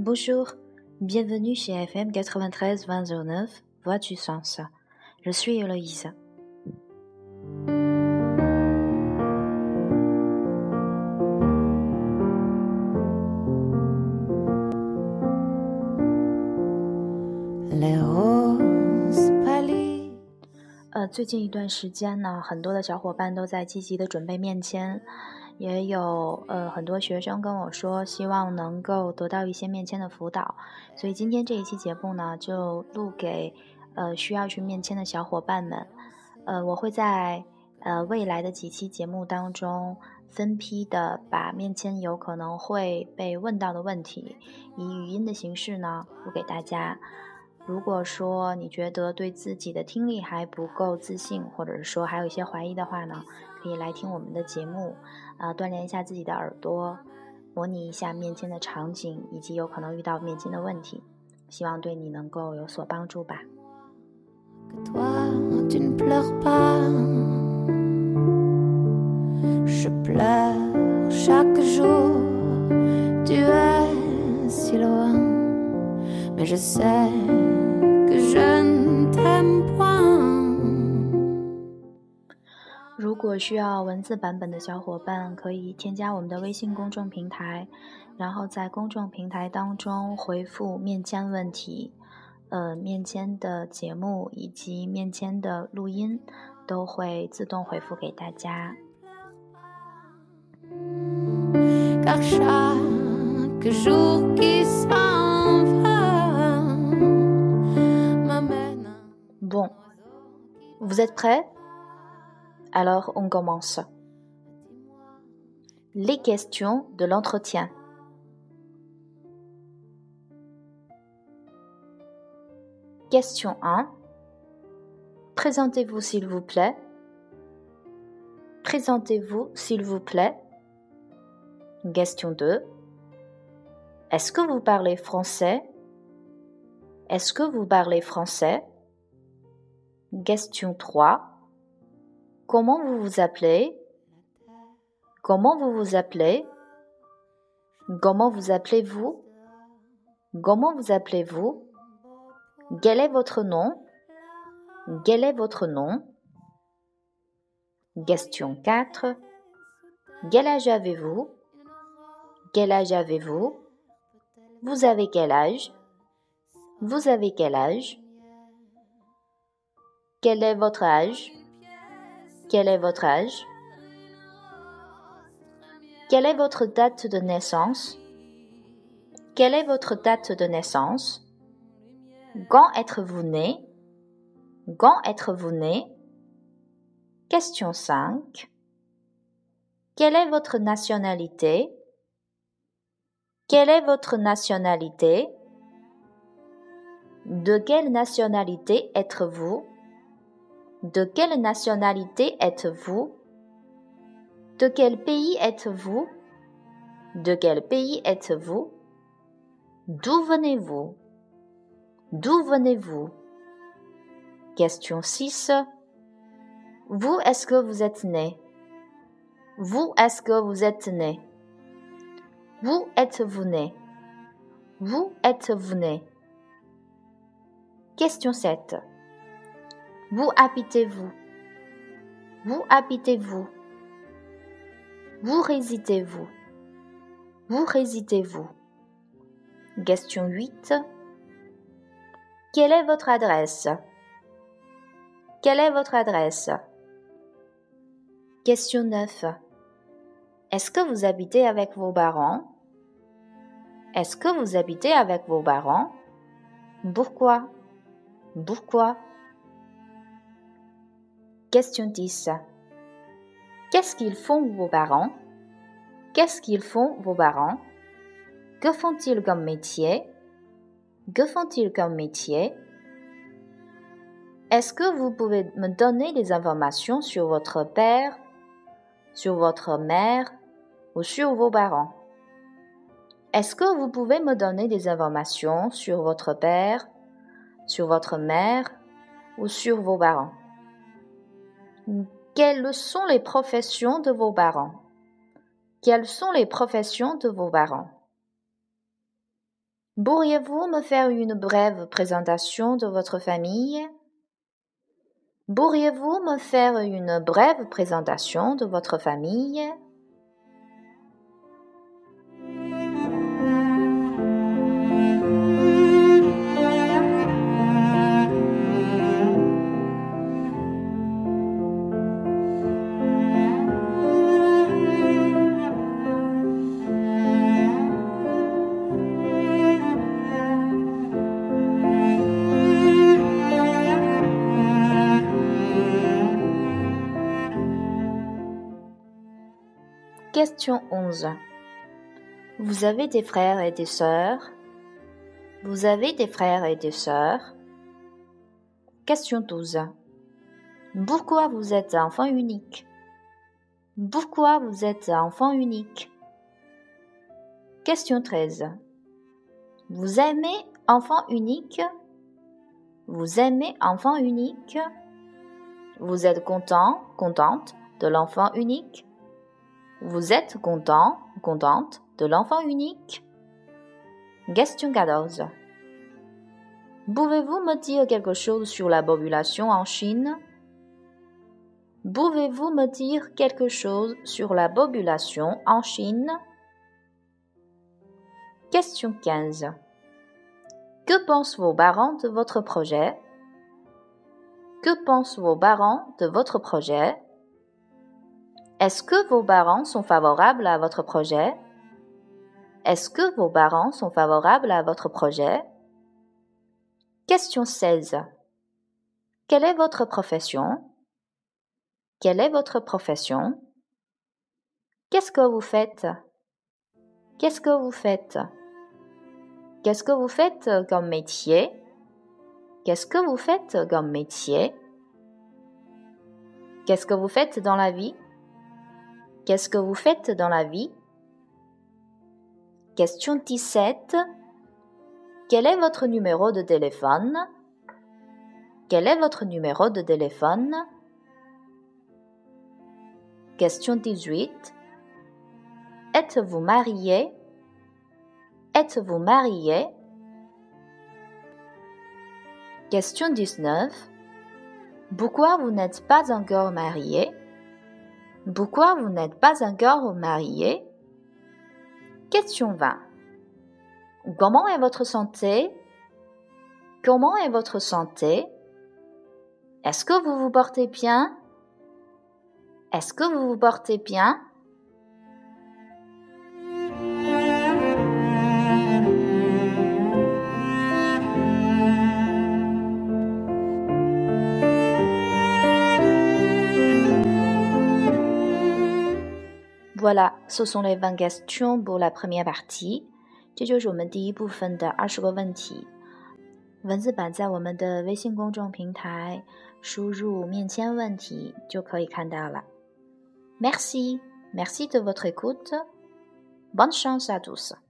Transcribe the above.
Bonjour, bienvenue chez FM 93-2009, Voix du Sens. Je suis Héloïse.最近一段时间呢，很多的小伙伴都在积极的准备面签，也有很多学生跟我说希望能够得到一些面签的辅导，所以今天这一期节目呢就录给需要去面签的小伙伴们。我会在未来的几期节目当中分批的把面签有可能会被问到的问题以语音的形式呢录给大家。如果说你觉得对自己的听力还不够自信，或者是说还有一些怀疑的话呢，可以来听我们的节目，锻炼一下自己的耳朵，模拟一下面签的场景，以及有可能遇到面签的问题，希望对你能够有所帮助吧。如果需要文字版本的小伙伴，可以添加我们的微信公众平台，然后在公众平台当中回复面签问题，面签的节目以及面签的录音都会自动回复给大家。Bon, vous êtes prêts? Alors, on commence. Les questions de l'entretien. Question 1. Présentez-vous s'il vous plaît. Présentez-vous s'il vous plaît. Question 2. Est-ce que vous parlez français? Est-ce que vous parlez français? Question 3. Comment vous vous appelez? Comment vous vous appelez? Comment vous appelez-vous? Comment vous appelez-vous? Quel est votre nom? Quel est votre nom? Question 4. Quel âge avez-vous? Quel âge avez-vous? Vous avez quel âge? Vous avez quel âge? Quel est votre âge? Quel est votre âge? Quelle est votre date de naissance? Quelle est votre date de naissance? Quand êtes-vous né? Quand êtes-vous né? Question 5. Quelle est votre nationalité? Quelle est votre nationalité? De quelle nationalité êtes-vous? De quelle nationalité êtes-vous? De quel pays êtes-vous? De quel pays êtes-vous? D'où venez-vous? D'où venez-vous? Question 6. Vous, est-ce que vous êtes né? Vous, est-ce que vous êtes né? Où êtes-vous né? Où êtes-vous né? Question 7. Où habitez-vous? Où habitez-vous? Où résidez-vous? Où résidez-vous? Question 8. Quelle est votre adresse? Quelle est votre adresse? Question 9. Est-ce que vous habitez avec vos parents? Est-ce que vous habitez avec vos parents? Pourquoi? Pourquoi? Question 10. Qu'est-ce qu'ils font vos parents? Qu'est-ce qu'ils font vos parents? Que font-ils comme métier? Que font-ils comme métier? Est-ce que vous pouvez me donner des informations sur votre père, sur votre mère ou sur vos parents? Est-ce que vous pouvez me donner des informations sur votre père, sur votre mère ou sur vos parents? Quelles sont les professions de vos parents? Quelles sont les professions de vos parents? Pourriez-vous me faire une brève présentation de votre famille? Pourriez-vous me faire une brève présentation de votre famille? Question 11. Vous avez des frères et des sœurs? Vous avez des frères et des sœurs? Question 12. Pourquoi vous êtes enfant unique? Pourquoi vous êtes enfant unique? Question 13. Vous aimez enfant unique? Vous aimez enfant unique? Vous êtes content, contente de l'enfant unique? Vous êtes content, contente de l'enfant unique? Question 14. Pouvez-vous me dire quelque chose sur la population en Chine? Pouvez-vous me dire quelque chose sur la population en Chine? Question 15. Que pensent vos parents de votre projet? Que pensent vos parents de votre projet? Est-ce que vos parents sont favorables à votre projet? Est-ce que vos parents sont favorables à votre projet? Question 16. Quelle est votre profession? Quelle est votre profession? Qu'est-ce que vous faites? Qu'est-ce que vous faites? Qu'est-ce que vous faites comme métier? Qu'est-ce que vous faites comme métier? Qu'est-ce que vous faites dans la vie? Qu'est-ce que vous faites dans la vie? Question 17. Quel est votre numéro de téléphone? Quel est votre numéro de téléphone? Question 18. Êtes-vous marié? Êtes-vous marié? Question 19. Pourquoi vous n'êtes pas encore marié? Pourquoi vous n'êtes pas encore marié? Question 20. Comment est votre santé? Comment est votre santé? Est-ce que vous vous portez bien? Est-ce que vous vous portez bien? Voilà, ce sont les 20 questions pour la première partie. 这就是我们第一部分的20个问题。文字版在我们的微信公众平台输入面签问题就可以看到了。Merci, merci de votre écoute. Bonne chance à tous.